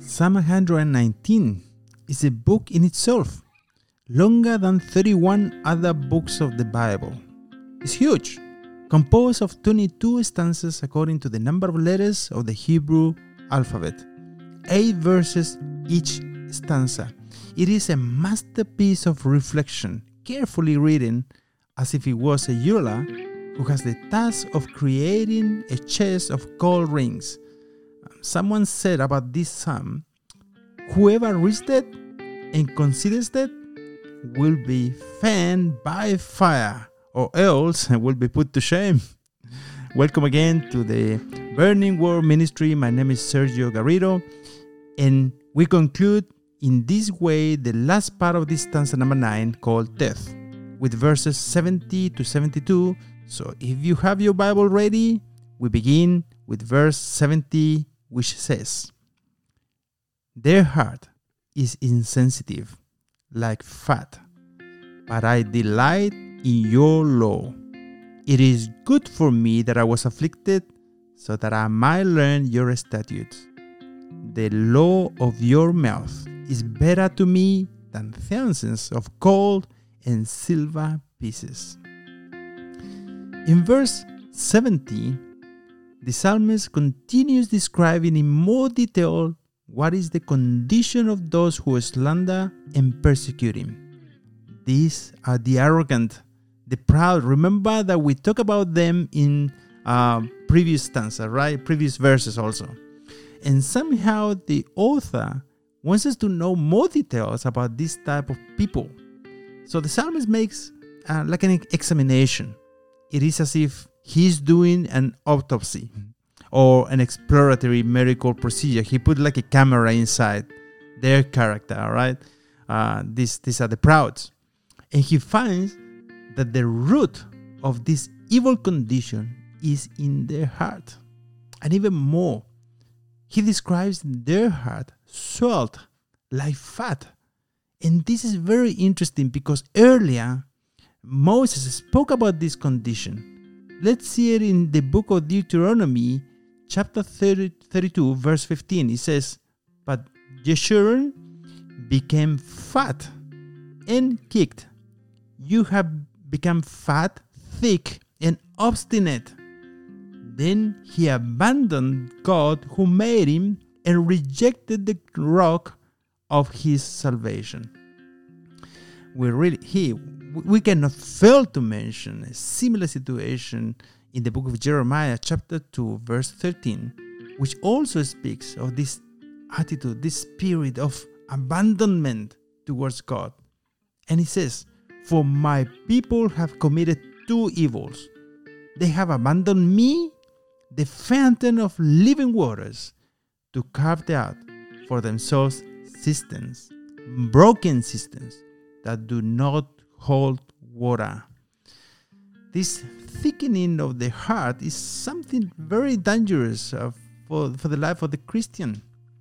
Psalm 119 is a book in itself, longer than 31 other books of the Bible. It's huge, composed of 22 stanzas according to the number of letters of the Hebrew alphabet, 8 verses each stanza. It is a masterpiece of reflection, carefully written as if it was a jeweler who has the task of creating a chest of gold rings. Someone said about this psalm, whoever reads it and considers it will be fanned by fire, or else will be put to shame. Welcome again to the Burning Word Ministry. My name is Sergio Garrido, and we conclude in this way the last part of this stanza number 9 called Death, with verses 70 to 72. So if you have your Bible ready, we begin with verse 70, which says, "Their heart is insensitive, like fat, but I delight in your law. It is good for me that I was afflicted, so that I might learn your statutes. The law of your mouth is better to me than thousands of gold and silver pieces." In verse 70, the psalmist continues describing in more detail what is the condition of those who slander and persecute him. These are the arrogant, the proud. Remember that we talked about them in previous stanza, right? Previous verses also. And somehow the author wants us to know more details about this type of people. So the psalmist makes like an examination. It is as if he's doing an autopsy or an exploratory medical procedure. He put like a camera inside their character, all right? These are the prouds. And he finds that the root of this evil condition is in their heart. And even more, he describes their heart swelled like fat. And this is very interesting because earlier, Moses spoke about this condition. Let's see it in the book of Deuteronomy, chapter 32, verse 15. It says, "But Jeshurun became fat and kicked. You have become fat, thick, and obstinate." Then he abandoned God who made him and rejected the rock of his salvation. We cannot fail to mention a similar situation in the book of Jeremiah, chapter 2, verse 13, which also speaks of this attitude, this spirit of abandonment towards God. And it says, "For my people have committed 2 evils. They have abandoned me, the fountain of living waters, to carve out for themselves cisterns, broken cisterns that do not hold water." This thickening of the heart is something very dangerous for the life of the Christian.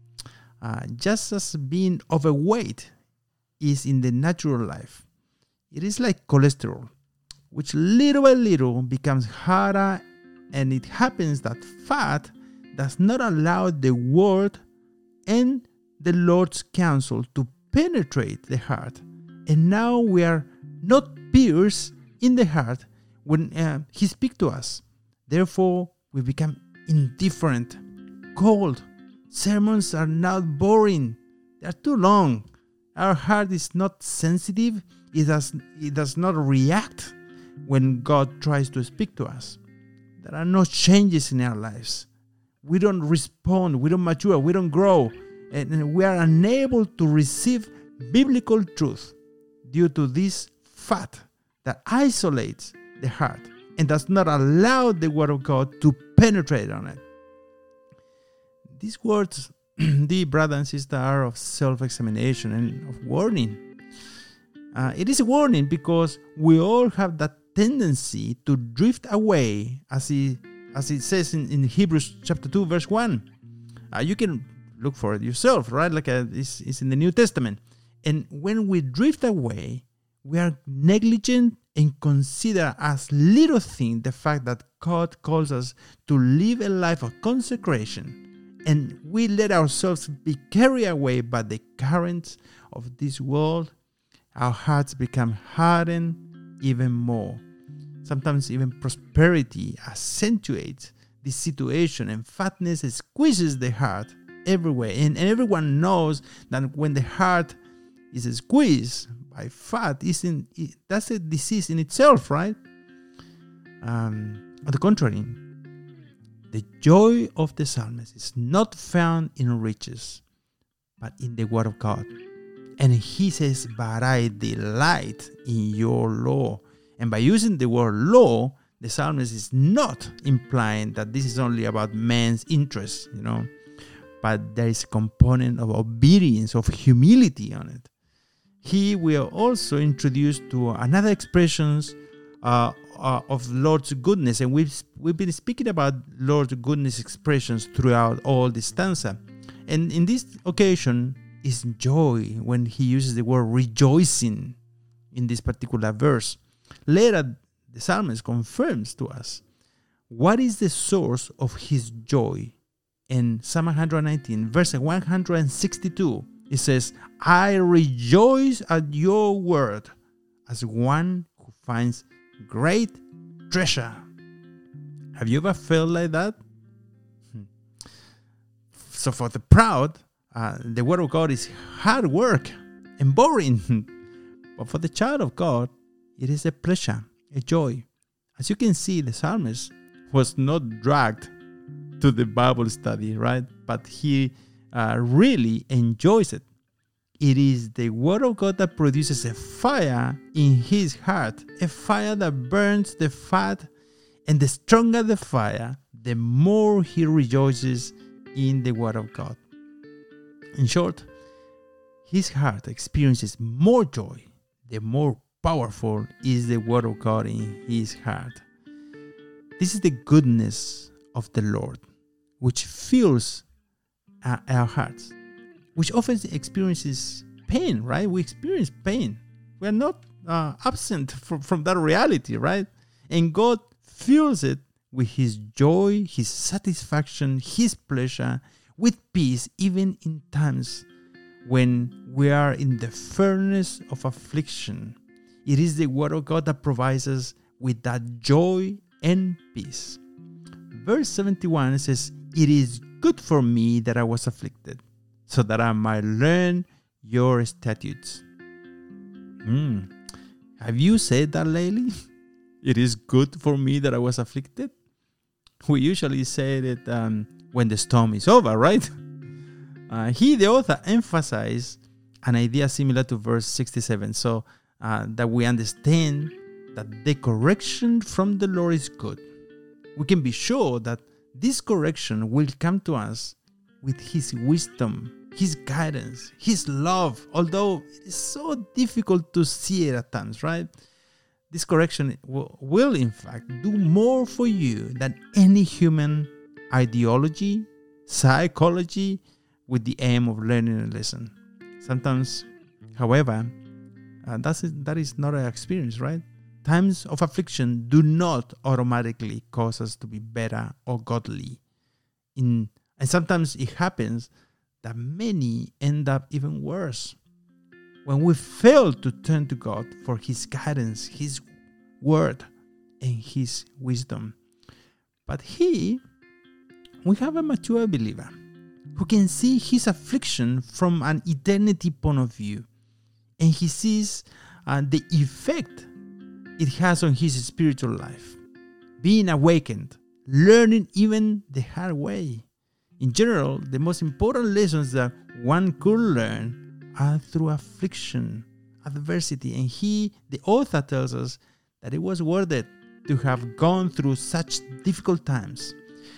Just as being overweight is in the natural life, it is like cholesterol, which little by little becomes harder, and it happens that fat does not allow the word and the Lord's counsel to penetrate the heart. And now we are not pierced in the heart when he speaks to us. Therefore, we become indifferent, cold. Sermons are now boring. They are too long. Our heart is not sensitive. It does not react when God tries to speak to us. There are no changes in our lives. We don't respond. We don't mature. We don't grow. And we are unable to receive biblical truth due to this fat that isolates the heart and does not allow the word of God to penetrate on it. These words, dear brother and sister, are of self-examination and of warning. It is a warning because we all have that tendency to drift away, as it says in Hebrews chapter 2, verse 1. You can look for it yourself, right? Like it's in the New Testament. And when we drift away, we are negligent and consider as little thing the fact that God calls us to live a life of consecration and we let ourselves be carried away by the currents of this world, our hearts become hardened even more. Sometimes even prosperity accentuates this situation, and fatness squeezes the heart everywhere. And everyone knows that when the heart is squeezed by fat, that's a disease in itself, right? On the contrary, the joy of the psalmist is not found in riches, but in the word of God. And he says, but I delight in your law. And by using the word law, the psalmist is not implying that this is only about man's interests, but there is a component of obedience, of humility on it. Here we are also introduced to another expressions of Lord's goodness, and we've been speaking about Lord's goodness expressions throughout all this stanza. And in this occasion is joy when he uses the word rejoicing in this particular verse. Later, the psalmist confirms to us what is the source of his joy. In Psalm 119, verse 162, it says, I rejoice at your word as one who finds great treasure. Have you ever felt like that? So for the proud, the word of God is hard work and boring. But for the child of God, it is a pleasure, a joy. As you can see, the psalmist was not dragged to the Bible study, right? But he really enjoys it. It is the word of God that produces a fire in his heart, a fire that burns the fat, and the stronger the fire, the more he rejoices in the word of God. In short, his heart experiences more joy the more powerful is the word of God in his heart. This is the goodness of the Lord, which fills our hearts, which often experiences pain, right? We experience pain. We are not absent from that reality, right? And God fills it with his joy, his satisfaction, his pleasure, with peace, even in times when we are in the furnace of affliction. It is the word of God that provides us with that joy and peace. Verse 71 says, "It is good for me that I was afflicted, so that I might learn your statutes." Have you said that lately? It is good for me that I was afflicted. We usually say it when the storm is over, right? Here the author emphasized an idea similar to verse 67, so that we understand that the correction from the Lord is good. We can be sure that this correction will come to us with his wisdom, his guidance, his love, although it is so difficult to see it at times, right? This correction will in fact do more for you than any human ideology, psychology, with the aim of learning a lesson. Sometimes, however, that is not our experience, right? Times of affliction do not automatically cause us to be better or godly. And sometimes it happens that many end up even worse. When we fail to turn to God for his guidance, his word, and his wisdom. But here, we have a mature believer who can see his affliction from an eternity point of view. And he sees the effect it has on his spiritual life. Being awakened, learning even the hard way. In general, the most important lessons that one could learn are through affliction, adversity. And the author tells us that it was worth it to have gone through such difficult times.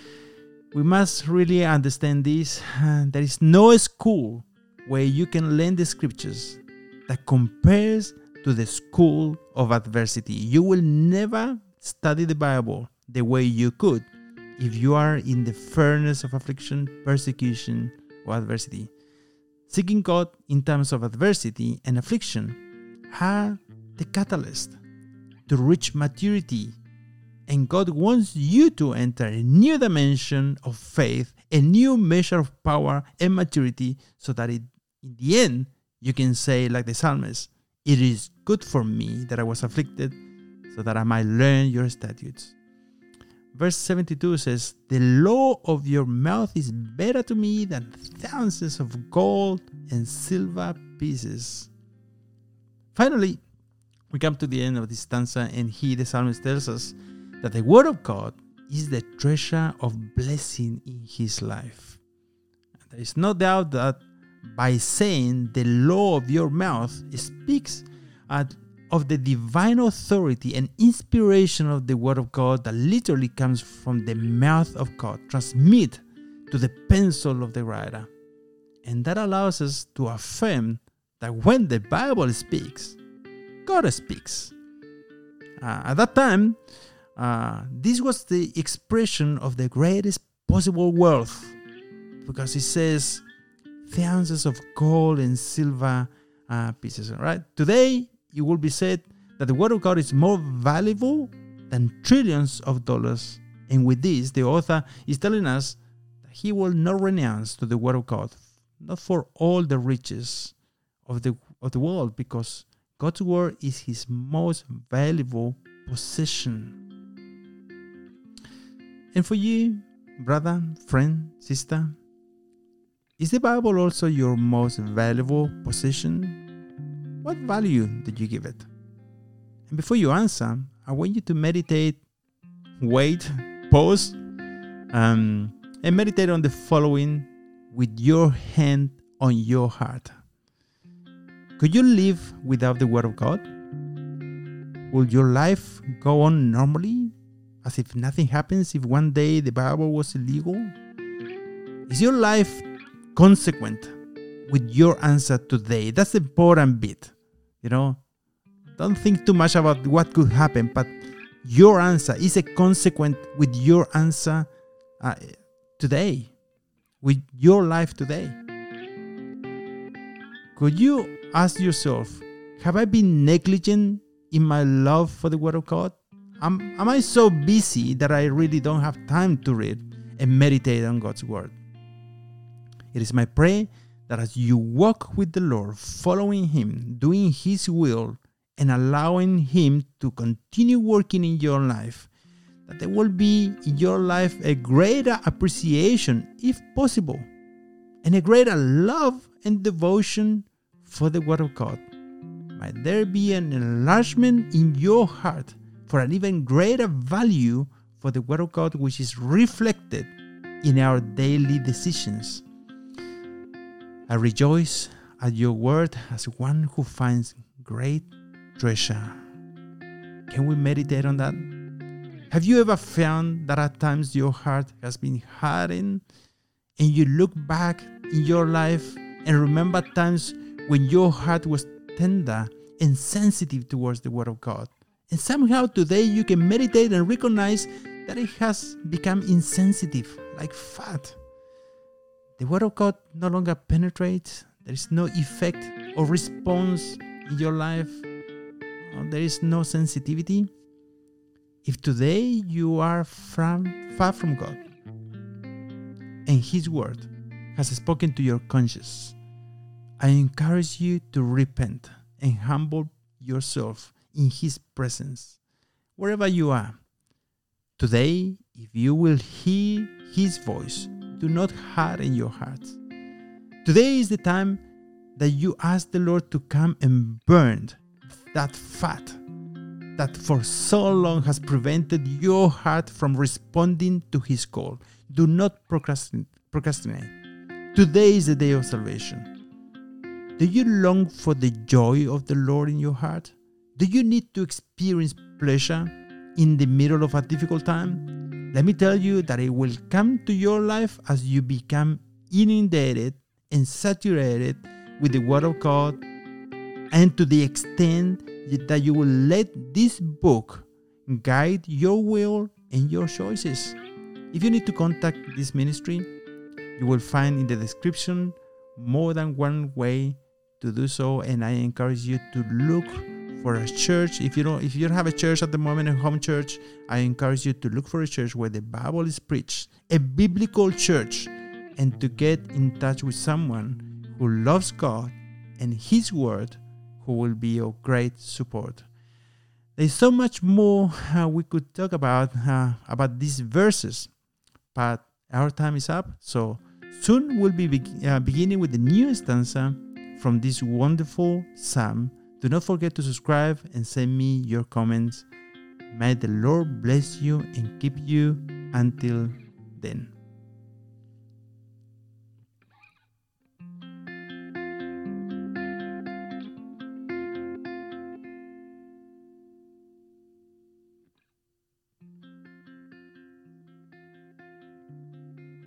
We must really understand this. There is no school where you can learn the scriptures that compares to the school of adversity. You will never study the Bible the way you could if you are in the furnace of affliction, persecution, or adversity. Seeking God in times of adversity and affliction are the catalyst to reach maturity And God wants you to enter a new dimension of faith, a new measure of power and maturity, so that in the end, you can say, like the psalmist, "It is good for me that I was afflicted, so that I might learn your statutes." Verse 72 says, "The law of your mouth is better to me than thousands of gold and silver pieces." Finally, we come to the end of this stanza, and the psalmist, tells us that the word of God is the treasure of blessing in his life. There is no doubt that by saying the law of your mouth speaks of the divine authority and inspiration of the word of God that literally comes from the mouth of God, transmit to the pencil of the writer. And that allows us to affirm that when the Bible speaks, God speaks. At that time, this was the expression of the greatest possible wealth, because it says thousands of gold and silver pieces. Right? Today, it will be said that the word of God is more valuable than trillions of dollars. And with this, the author is telling us that he will not renounce to the word of God, not for all the riches of the world, because God's word is his most valuable possession. And for you, brother, friend, sister, is the Bible also your most valuable possession? What value did you give it? And before you answer, I want you to meditate, wait, pause, and meditate on the following with your hand on your heart. Could you live without the Word of God? Will your life go on normally, as if nothing happens if one day the Bible was illegal? Is your life consequent with your answer today? That's the important bit. Don't think too much about what could happen, but your answer is a consequent with your answer today, with your life today. Could you ask yourself, have I been negligent in my love for the Word of God? Am I so busy that I really don't have time to read and meditate on God's Word? It is my prayer that as you walk with the Lord, following Him, doing His will, and allowing Him to continue working in your life, that there will be in your life a greater appreciation, if possible, and a greater love and devotion for the Word of God. Might there be an enlargement in your heart for an even greater value for the Word of God, which is reflected in our daily decisions. I rejoice at your word as one who finds great treasure. Can we meditate on that? Have you ever found that at times your heart has been hardened, and you look back in your life and remember times when your heart was tender and sensitive towards the Word of God? And somehow today you can meditate and recognize that it has become insensitive, like fat. The Word of God no longer penetrates. There is no effect or response in your life. There is no sensitivity. If today you are far from God and His Word has spoken to your conscience, I encourage you to repent and humble yourself in His presence, wherever you are. Today, if you will hear His voice, do not harden your hearts. Today is the time that you ask the Lord to come and burn that fat that for so long has prevented your heart from responding to His call. Do not procrastinate. Today is the day of salvation. Do you long for the joy of the Lord in your heart? Do you need to experience pleasure in the middle of a difficult time? Let me tell you that it will come to your life as you become inundated and saturated with the Word of God, and to the extent that you will let this book guide your will and your choices. If you need to contact this ministry, you will find in the description more than one way to do so, and I encourage you to look for a church. If you don't have a church at the moment, a home church, I encourage you to look for a church where the Bible is preached, a biblical church, and to get in touch with someone who loves God and His Word, who will be of great support. There's so much more we could talk about these verses, but our time is up. So soon we'll be beginning with the new stanza from this wonderful psalm. Do not forget to subscribe and send me your comments. May the Lord bless you and keep you until then.